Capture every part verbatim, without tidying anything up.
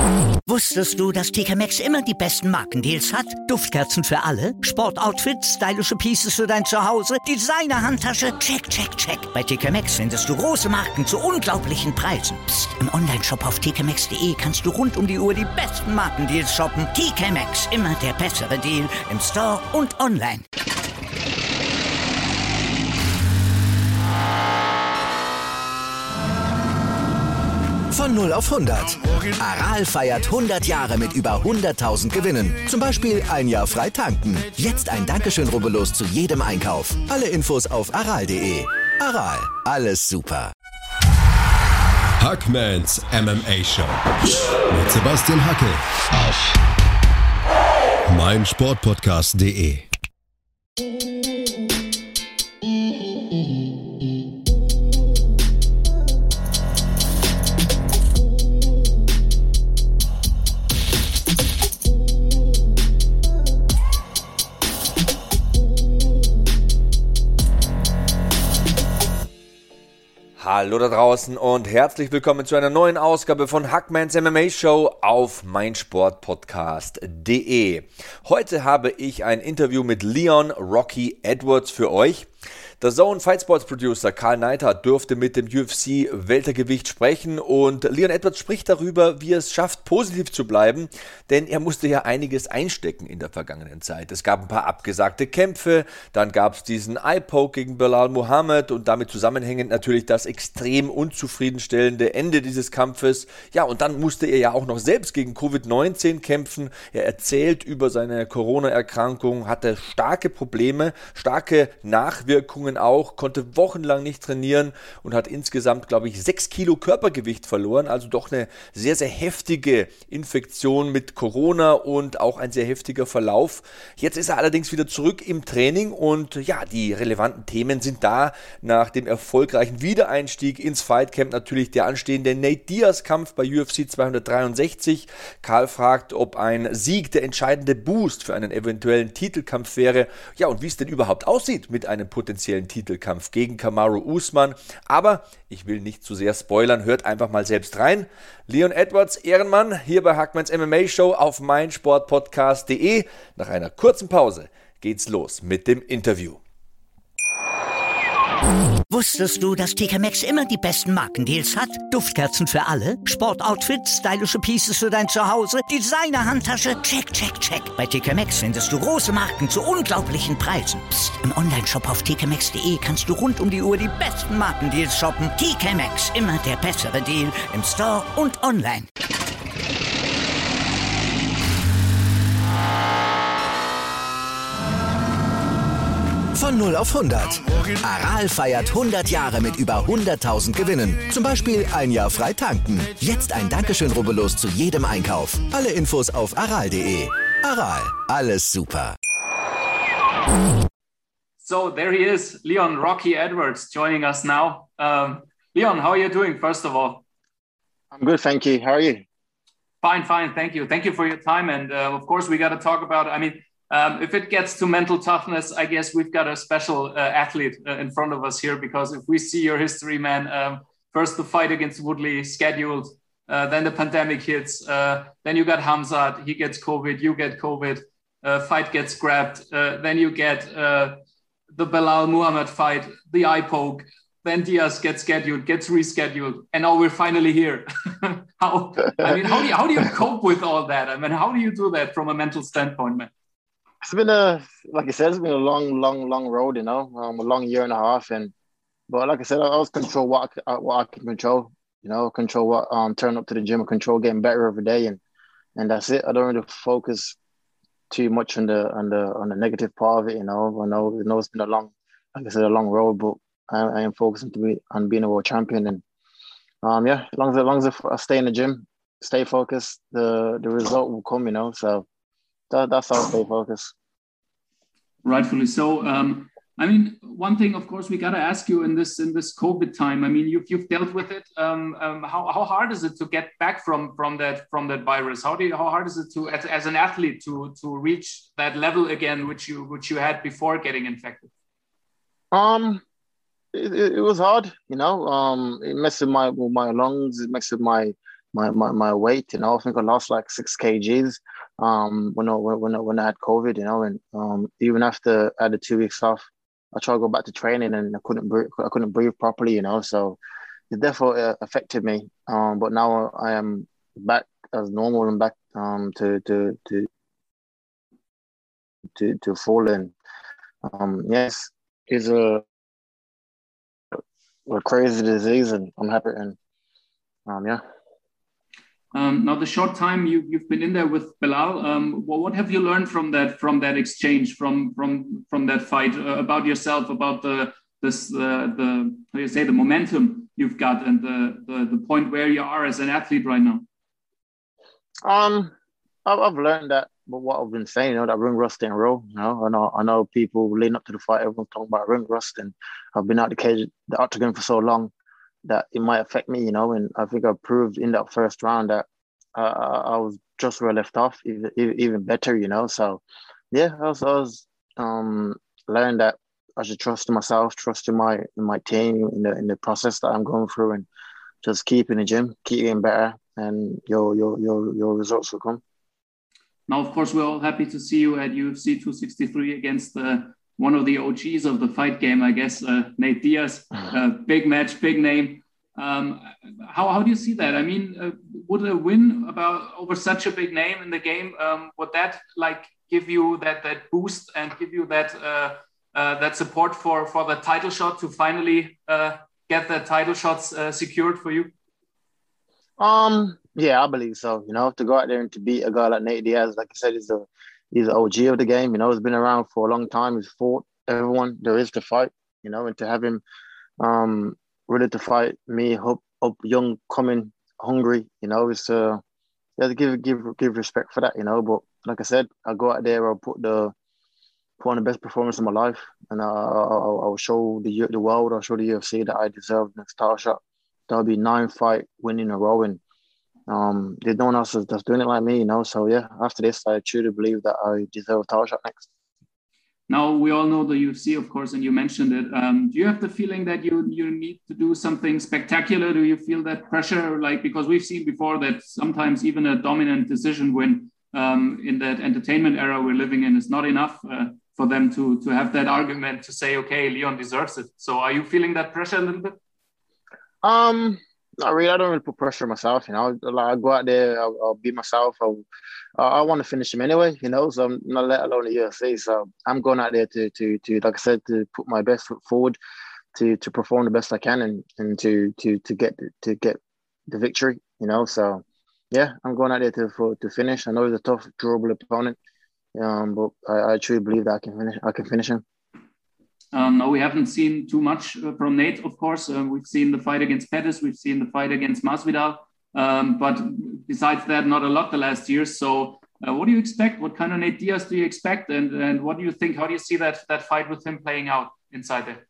Wusstest du, dass T K Maxx immer die besten Markendeals hat? Duftkerzen für alle, Sportoutfits, stylische Pieces für dein Zuhause, Designer-Handtasche, check, check, check. Bei T K Maxx findest du große Marken zu unglaublichen Preisen. Psst. Im Onlineshop auf t k maxx punkt d e kannst du rund um die Uhr die besten Markendeals shoppen. T K Maxx, immer der bessere Deal im Store und online. Von null auf hundert. Aral feiert hundert Jahre mit über hunderttausend Gewinnen. Zum Beispiel ein Jahr frei tanken. Jetzt ein Dankeschön, rubbellos zu jedem Einkauf. Alle Infos auf aral punkt de. Aral, alles super. Hackmans M M A Show mit Sebastian Hackel auf meinsportpodcast punkt de. Hallo da draußen und herzlich willkommen zu einer neuen Ausgabe von Hackmans M M A Show auf meinsportpodcast punkt de. Heute habe ich ein Interview mit Leon Rocky Edwards für euch. Der D A Z N Fight Sports Producer Karl Neidhardt dürfte mit dem U F C-Weltergewicht sprechen und Leon Edwards spricht darüber, wie er es schafft, positiv zu bleiben, denn er musste ja einiges einstecken in der vergangenen Zeit. Es gab ein paar abgesagte Kämpfe, dann gab es diesen Eye-Poke gegen Belal Muhammad und damit zusammenhängend natürlich das extrem unzufriedenstellende Ende dieses Kampfes. Ja, und dann musste er ja auch noch selbst gegen Covid neunzehn kämpfen. Er erzählt über seine Corona-Erkrankung, hatte starke Probleme, starke Nachwirkungen auch, konnte wochenlang nicht trainieren und hat insgesamt, glaube ich, sechs Kilo Körpergewicht verloren, also doch eine sehr, sehr heftige Infektion mit Corona und auch ein sehr heftiger Verlauf. Jetzt ist er allerdings wieder zurück im Training und ja, die relevanten Themen sind da. Nach dem erfolgreichen Wiedereinstieg ins Fightcamp natürlich der anstehende Nate Diaz-Kampf bei U F C zweihundertdreiundsechzig. Karl fragt, ob ein Sieg der entscheidende Boost für einen eventuellen Titelkampf wäre. Ja, und wie es denn überhaupt aussieht mit einem potenziellen Titelkampf gegen Kamaru Usman. Aber ich will nicht zu sehr spoilern, hört einfach mal selbst rein. Leon Edwards, Ehrenmann, hier bei Hackmans M M A Show auf meinsportpodcast punkt de. Nach einer kurzen Pause geht's los mit dem Interview. Wusstest du, dass T K Maxx immer die besten Markendeals hat? Duftkerzen für alle, Sportoutfits, stylische Pieces für dein Zuhause, Designer-Handtasche, check, check, check. Bei T K Maxx findest du große Marken zu unglaublichen Preisen. Psst. Im Onlineshop auf t k maxx punkt de kannst du rund um die Uhr die besten Markendeals shoppen. T K Maxx, immer der bessere Deal im Store und online. Von null auf hundert. Aral feiert hundert Jahre mit über hunderttausend Gewinnen. Zum Beispiel ein Jahr frei tanken. Jetzt ein Dankeschön, rubbellos zu jedem Einkauf. Alle Infos auf aral punkt de. Aral, alles super. So there he is, Leon Rocky Edwards, joining us now. Um, Leon, how are you doing, first of all? I'm good, thank you. How are you? Fine, fine, thank you. Thank you for your time. And uh, of course, we got to talk about, I mean, Um, if it gets to mental toughness, I guess we've got a special uh, athlete uh, in front of us here, because if we see your history, man, um, first the fight against Woodley scheduled, uh, then the pandemic hits, uh, then you got Hamzat, he gets COVID, you get COVID, uh, fight gets grabbed, uh, then you get uh, the Belal Muhammad fight, the eye poke, then Diaz gets scheduled, gets rescheduled, and now we're finally here. how, I mean, how do you, how do you cope with all that? I mean, how do you do that from a mental standpoint, man? It's been a, like I said, it's been a long, long, long road, you know, um, a long year and a half. And, but like I said, I always control what I, what I can control, you know, control what, um, turn up to the gym, control getting better every day. And, and that's it. I don't really focus too much on the, on the, on the negative part of it, you know. I know, I know it's been a long, like I said, a long road, but I, I am focusing to be on being a world champion. And, um, yeah, as long as, as long as I stay in the gym, stay focused, the, the result will come, you know, so. That, that's how I stay focused. Rightfully so. Um, I mean, one thing, of course, we got to ask you in this in this COVID time. I mean, you've you've dealt with it. Um, um, how how hard is it to get back from from that from that virus? How do you, how hard is it to as, as an athlete to to reach that level again, which you which you had before getting infected? Um, it, it, it was hard. You know, um, it messed with my with my lungs. It messed with my my, my, my weight. You know, I think I lost like six kgs um, when I when I, when I had COVID. You know, and um, even after I had the two weeks off, I tried to go back to training and I couldn't breathe, I couldn't breathe properly. You know, so it definitely uh, affected me. Um, but now I am back as normal and back um, to to to to to full. And um, yes, it's a a crazy disease, and I'm happy. And um, yeah. Um, now, the short time you, you've been in there with Belal, um, well, what have you learned from that from that exchange, from from from that fight, uh, about yourself, about the this uh, the how do you say the momentum you've got, and the, the the point where you are as an athlete right now? Um, I've, I've learned that, but what I've been saying, you know, that ring rust ain't real. You know, I know I know people leading up to the fight, everyone's talking about ring rust, and I've been out the cage, the octagon for so long that it might affect me, you know. And I think I proved in that first round that uh, I was just where I left off, even, even better, you know. So, yeah, I was, I was um, learned that I should trust in myself, trust in my in my team, in the in the process that I'm going through, and just keep in the gym, keep getting better, and your your your your results will come. Now, of course, we're all happy to see you at U F C two sixty-three against uh, one of the O Gs of the fight game, I guess, uh, Nate Diaz. Uh, big match, big name. Um, how how do you see that? I mean, uh, would a win about over such a big name in the game, um, would that like give you that that boost and give you that uh, uh, that support for for the title shot to finally uh, get the title shots uh, secured for you? Um, yeah, I believe so. You know, to go out there and to beat a guy like Nate Diaz, like I said, he's a he's an O G of the game. You know, he's been around for a long time. He's fought everyone there is to fight. You know, and to have him um ready to fight me, up up young, coming, hungry. You know, it's uh, you have to give give give respect for that. You know, but like I said, I go out there, I'll put the put on the best performance of my life, and I'll, I'll, I'll show the the world, I'll show the U F C that I deserve the next title shot. That'll be nine fight win in a row, and um, there's no one else that's doing it like me, you know. So yeah, after this, I truly believe that I deserve a title shot next. Now, we all know the U F C, of course, and you mentioned it. Um, do you have the feeling that you you need to do something spectacular? Do you feel that pressure? Like, because we've seen before that sometimes even a dominant decision win um, in that entertainment era we're living in is not enough uh, for them to to have that argument to say, okay, Leon deserves it. So are you feeling that pressure a little bit? Um, not really. I don't really put pressure on myself. You know, like I go out there, I'll, I'll be myself. I'll, I want to finish him anyway. You know, so I'm not let alone the U F C. So I'm going out there to to to like I said, to put my best foot forward, to to perform the best I can, and and to to to get to get the victory. You know, so yeah, I'm going out there to for, to finish. I know he's a tough, durable opponent, um, but I, I truly believe that I can finish. I can finish him. Um, no, we haven't seen too much uh, from Nate, of course. Uh, we've seen the fight against Pettis. We've seen the fight against Masvidal. Um, but besides that, not a lot the last years. So uh, what do you expect? What kind of Nate Diaz do you expect? And and what do you think? How do you see that that fight with him playing out inside there?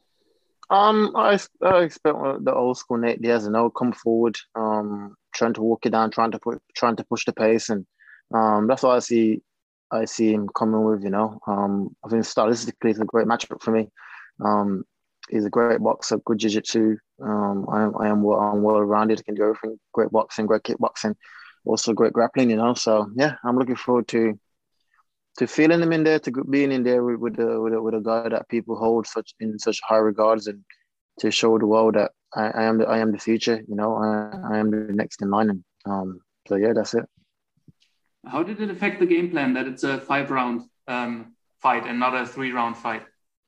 Um, I, I expect the old school Nate Diaz, you know, come forward, um, trying to walk it down, trying to put, trying to push the pace. And um, that's what I see I see him coming with, you know. Um, I think stylistically it's a great matchup for me. Um, he's a great boxer, good jiu-jitsu. Um, I am, I am well, I'm well-rounded, can do everything. Great boxing, great kickboxing, also great grappling, you know. So yeah, I'm looking forward to to feeling him in there, to being in there with with a, with a, with a guy that people hold such in such high regards, and to show the world that I, I am the, I am the future, you know. I, I am the next in line, and um, so yeah, that's it. How did it affect the game plan that it's a five-round um, fight and not a three-round fight?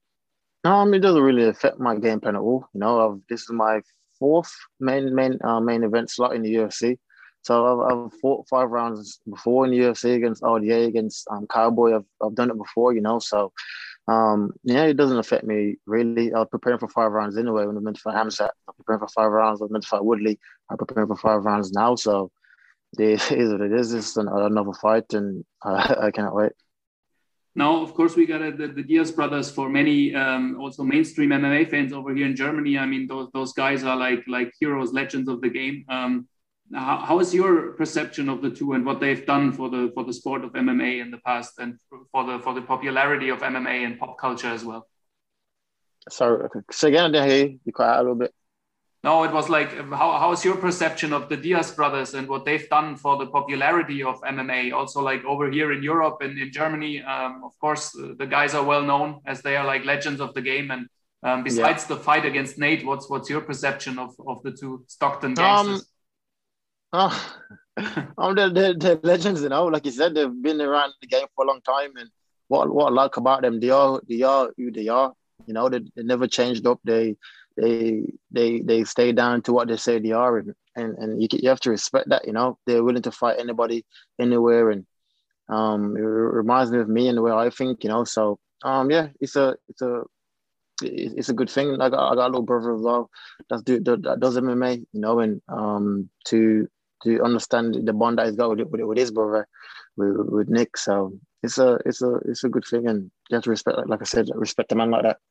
Um, it doesn't really affect my game plan at all. You know, I've, this is my fourth main main uh, main event slot in the U F C. So I've, I've fought five rounds before in the U F C against R D A, against um, Cowboy. I've I've done it before, you know. So um, yeah, it doesn't affect me really. I was preparing for five rounds anyway when I went to fight Hamzat. I'm preparing for five rounds. I went to fight Woodley. I'm preparing for five rounds now. So it is what it is. It's another fight, and I, I cannot wait. Now, of course, we got uh, the, the Diaz brothers. For many, um, also mainstream M M A fans over here in Germany, I mean, those those guys are like like heroes, legends of the game. Um, how, how is your perception of the two and what they've done for the for the sport of M M A in the past, and for the for the popularity of M M A and pop culture as well? Sorry, so again, I didn't hear you. You cut out a little bit. No, it was like, how how is your perception of the Diaz brothers and what they've done for the popularity of M M A? Also, like over here in Europe and in Germany, um, of course, the guys are well known as they are like legends of the game. And um, besides yeah. the fight against Nate, what's what's your perception of, of the two Stockton gangsters? Um, oh, um, they're, they're, they're legends, you know. Like you said, they've been around the game for a long time, and what what I like about them, they are they are who they are. You know, they, they never changed up. They they they they stay down to what they say they are, and and, and you you have to respect that. You know, they're willing to fight anybody, anywhere, and um, it reminds me of me and the way I think. You know, so um, yeah, it's a it's a it's a good thing. I got I got a little brother as well that's do that does M M A. You know, and um, to to understand the bond that he's got with with, with his brother, with, with Nick. So it's a it's a it's a good thing, and you have to respect, like I said, respect a man like that.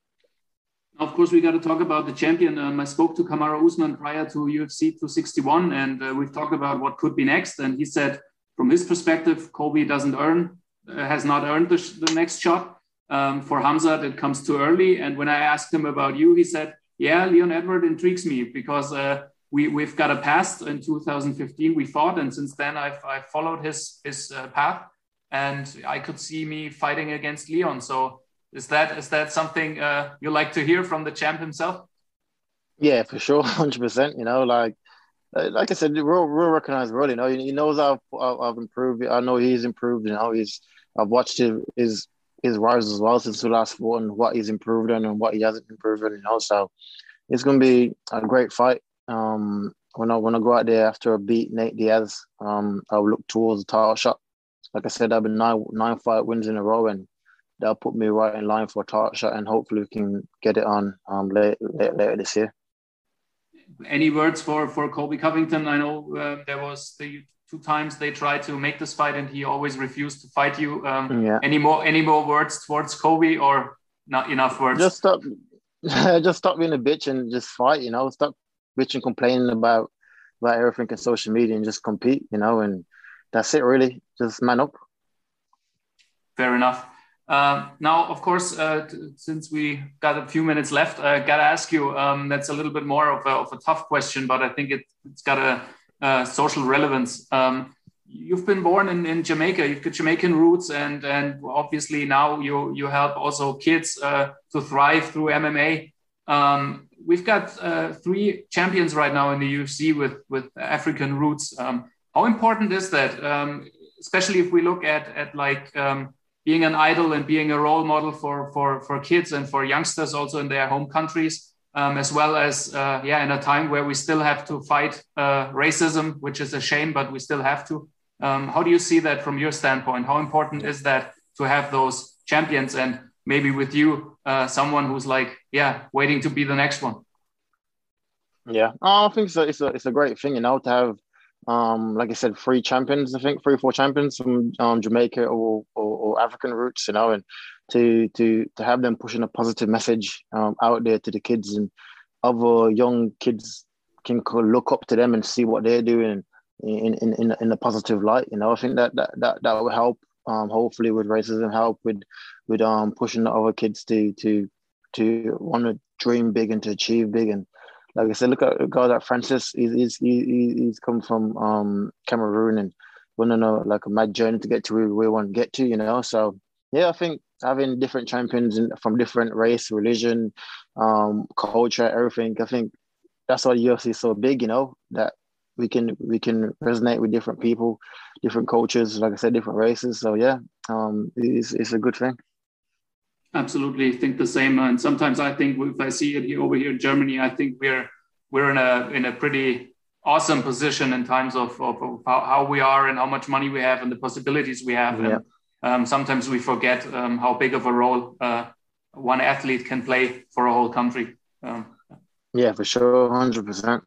Of course, we got to talk about the champion. Um, I spoke to Kamaru Usman prior to U F C two sixty-one, and uh, we've talked about what could be next. And he said, from his perspective, Colby doesn't earn, uh, has not earned the, sh- the next shot. Um, for Khamzat, it comes too early. And when I asked him about you, he said, yeah, Leon Edward intrigues me because uh, we, we've got a past. In two thousand fifteen, we fought. And since then, I've, I've followed his, his uh, path. And I could see me fighting against Leon. So Is that is that something uh, you like to hear from the champ himself? Yeah, for sure, one hundred percent. You know, like like I said, real real recognized role. You know, he knows I've I've improved. I know he's improved. You know, he's I've watched his his, his rise as well since the last fought and what he's improved on and what he hasn't improved on. You know, so it's going to be a great fight. Um, when I when I go out there after I beat Nate Diaz, um, I'll look towards the title shot. Like I said, I've been nine nine fight wins in a row, and that'll put me right in line for a title shot, and hopefully we can get it on um, later, later, later this year. Any words for, for Colby Covington? I know uh, there was the two times they tried to make this fight and he always refused to fight you. Um, yeah. Any more any more words towards Colby, or not enough words? Just stop, just stop being a bitch and just fight, you know. Stop bitching, complaining about, about everything on social media and just compete, you know, and that's it really. Just man up. Fair enough. Uh, now, of course, uh, t- since we got a few minutes left, I got to ask you, um, that's a little bit more of a, of a tough question, but I think it, it's got a, a social relevance. Um, you've been born in, in Jamaica, you've got Jamaican roots, and, and obviously now you, you help also kids uh, to thrive through M M A. Um, we've got uh, three champions right now in the U F C with, with African roots. Um, how important is that, um, especially if we look at, at like... Um, being an idol and being a role model for, for, for kids and for youngsters also in their home countries, um, as well as, uh, yeah, in a time where we still have to fight uh, racism, which is a shame, but we still have to. Um, how do you see that from your standpoint? How important is that to have those champions and maybe with you, uh, someone who's like, yeah, waiting to be the next one? Yeah, oh, I think it's a, it's a, it's a great thing, you know, to have, Um, like I said, three champions, I think three or four champions from um, Jamaica or, or, or African roots, you know, and to to to have them pushing a positive message um, out there to the kids, and other young kids can look up to them and see what they're doing in in in, in a positive light. You know, I think that that that, that will help. Um, hopefully, with racism, help with with um pushing the other kids to to to want to dream big and to achieve big. And like I said, look at a guy like Francis. He's he's he, he's come from um, Cameroon and went on a like a mad journey to get to where we want to get to. You know, so yeah, I think having different champions in, from different race, religion, um, culture, everything. I think that's why the U F C is so big. You know, that we can we can resonate with different people, different cultures. Like I said, different races. So yeah, um, it's it's a good thing. Absolutely, think the same. And sometimes I think if I see it here over here in Germany, I think we're we're in a in a pretty awesome position in terms of, of, of how, how we are and how much money we have and the possibilities we have. Yeah. And um, sometimes we forget um, how big of a role uh, one athlete can play for a whole country. Um, yeah, for sure, one hundred percent.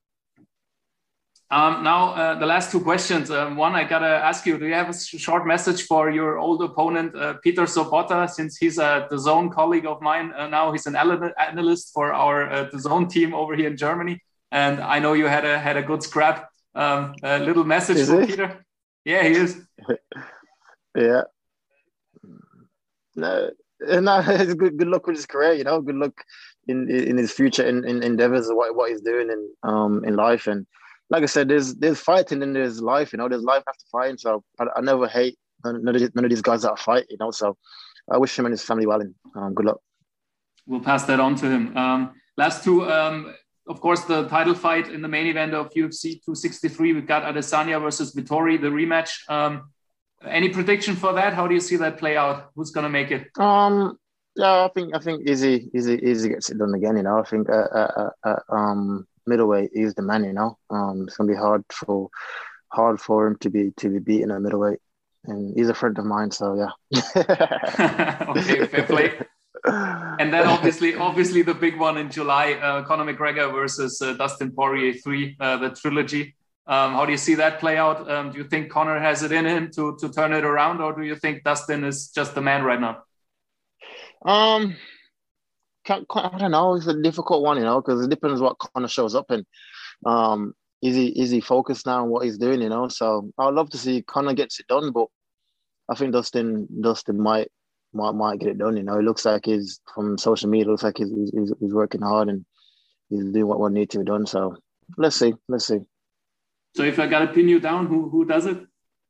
Um, now, uh, the last two questions. Um, one, I got to ask you, do you have a short message for your old opponent, uh, Peter Sobotta, since he's a DAZN colleague of mine uh, now? He's an analyst for our uh, DAZN team over here in Germany. And I know you had a had a good scrap. Um, a little message is for he? Peter. Yeah, he is. yeah. No, no, it's good, good luck with his career, you know, good luck in in his future in, in endeavors, what what he's doing in um in life. And like I said, there's there's fighting and there's life. You know, there's life after fighting. So I, I never hate none of, these, none of these guys that fight. You know, so I wish him and his family well, and um, good luck. We'll pass that on to him. Um, last two. Um, Of course, the title fight in the main event of U F C two sixty-three, we've got Adesanya versus Vettori, the rematch. Um, any prediction for that? How do you see that play out? Who's going to make it? Um, yeah, I think I think Izzy, Izzy, Izzy gets it done again. You know, I think uh, uh, uh, um, middleweight is the man. You know, um, it's going to be hard for hard for him to be to be beaten at middleweight, and he's a friend of mine. So yeah. Okay, fair play. And then obviously, obviously the big one in July, uh, Conor McGregor versus uh, Dustin Poirier three, uh, the trilogy. Um, how do you see that play out? Um, do you think Conor has it in him to to turn it around, or do you think Dustin is just the man right now? Um, can't, I don't know. It's a difficult one, you know, because it depends what Conor shows up in. Um, is he is he focused now on what he's doing, you know? So I'd love to see Conor gets it done, but I think Dustin Dustin might. Might, might get it done, you know. It looks like he's from social media. It looks like he's, he's he's working hard and he's doing what what needs to be done. So let's see, let's see. So if I gotta pin you down, who who does it?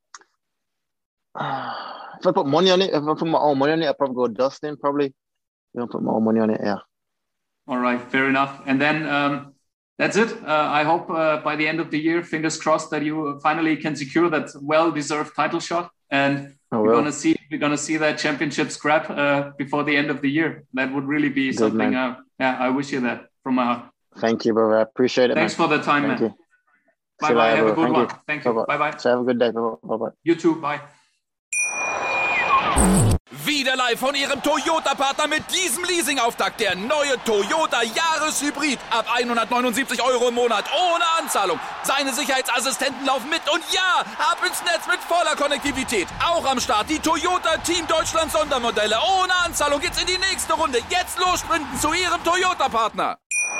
Uh, if I put money on it, if I put my own money on it, I'd probably go Dustin. Probably, you know, put my own money on it. Yeah. All right, fair enough. And then um, that's it. Uh, I hope uh, by the end of the year, fingers crossed, that you finally can secure that well-deserved title shot. And oh, we're well. gonna see we're gonna see that championship scrap uh, before the end of the year. That would really be Good, something. Uh, yeah, I wish you that from my heart. Thank you, brother. I appreciate it. Thanks man. for the time, Thank man. You. Bye bye. Have a good Thank one. You. Thank you. Bye bye. So have a good day. Bye bye. You too. Bye. Wieder live von Ihrem Toyota-Partner mit diesem Leasing-Auftakt. Der neue Toyota Jahreshybrid. Ab hundertneunundsiebzig Euro im Monat. Ohne Anzahlung. Seine Sicherheitsassistenten laufen mit. Und ja, ab ins Netz mit voller Konnektivität. Auch am Start die Toyota Team Deutschland Sondermodelle. Ohne Anzahlung geht's in die nächste Runde. Jetzt los sprinten zu Ihrem Toyota-Partner.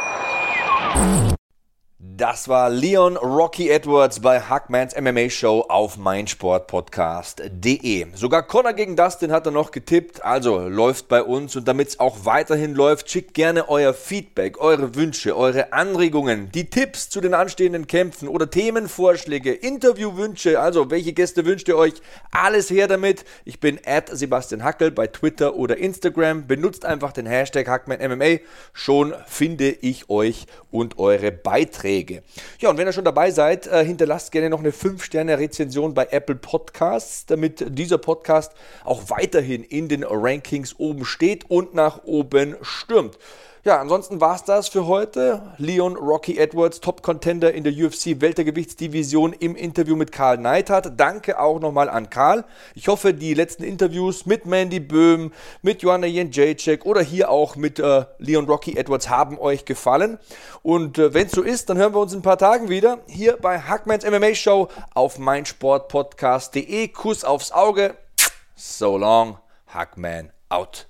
Das war Leon Rocky Edwards bei Hackmans M M A Show auf meinsportpodcast punkt de. Sogar Conor gegen Dustin hat er noch getippt, also läuft bei uns. Und damit es auch weiterhin läuft, schickt gerne euer Feedback, eure Wünsche, eure Anregungen, die Tipps zu den anstehenden Kämpfen oder Themenvorschläge, Interviewwünsche, also welche Gäste wünscht ihr euch, alles her damit. Ich bin at Sebastian Hackel bei Twitter oder Instagram, benutzt einfach den Hashtag HackmanMMA, schon finde ich euch und eure Beiträge. Ja, und wenn ihr schon dabei seid, äh, hinterlasst gerne noch eine fünf Sterne Rezension bei Apple Podcasts, damit dieser Podcast auch weiterhin in den Rankings oben steht und nach oben stürmt. Ja, ansonsten war es das für heute. Leon Rocky Edwards, Top-Contender in der U F C-Weltergewichtsdivision im Interview mit Karl Neidhardt. Danke auch nochmal an Karl. Ich hoffe, die letzten Interviews mit Mandy Böhm, mit Joanna Jędrzejczyk oder hier auch mit äh, Leon Rocky Edwards haben euch gefallen. Und äh, wenn es so ist, dann hören wir uns in ein paar Tagen wieder hier bei Hackmans M M A Show auf meinsportpodcast punkt de. Kuss aufs Auge. So long, Hackman out.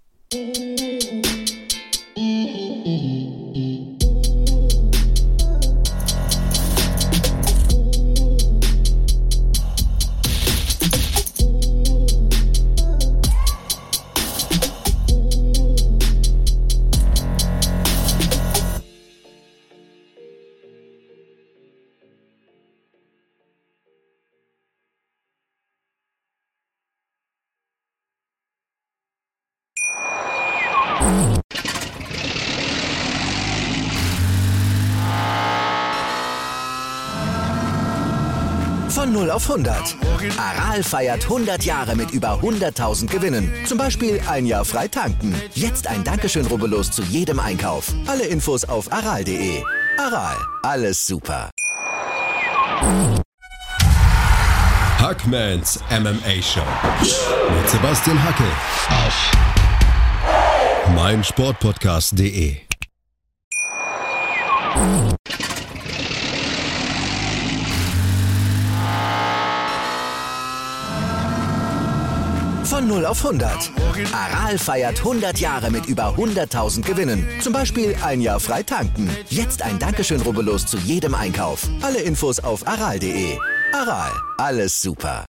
Von null auf hundert. Aral feiert hundert Jahre mit über hunderttausend Gewinnen. Zum Beispiel ein Jahr frei tanken. Jetzt ein Dankeschön, rubbellos zu jedem Einkauf. Alle Infos auf aral punkt de. Aral, alles super. Hackmans M M A Show mit Sebastian Hackel auf meinsportpodcast punkt de. Von null auf hundert. Aral feiert hundert Jahre mit über hunderttausend Gewinnen. Zum Beispiel ein Jahr frei tanken. Jetzt ein Dankeschön, rubbellos zu jedem Einkauf. Alle Infos auf aral punkt de. Aral, alles super.